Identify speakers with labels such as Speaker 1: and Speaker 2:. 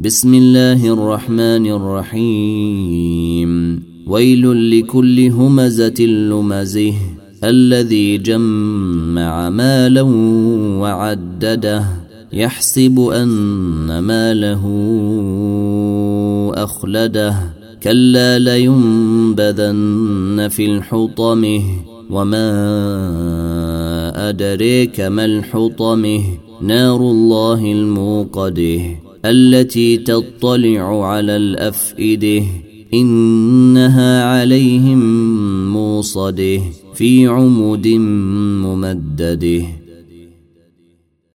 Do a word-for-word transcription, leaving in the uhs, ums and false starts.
Speaker 1: بسم الله الرحمن الرحيم ويل لكل همزة لمزه الذي جمع مالا وعدده يحسب أن ماله أخلده كلا لينبذن في الحطمه وما أدريك ما الحطمه نار الله الموقده التي تطلع على الأفئده إنها عليهم موصده في عمد ممدده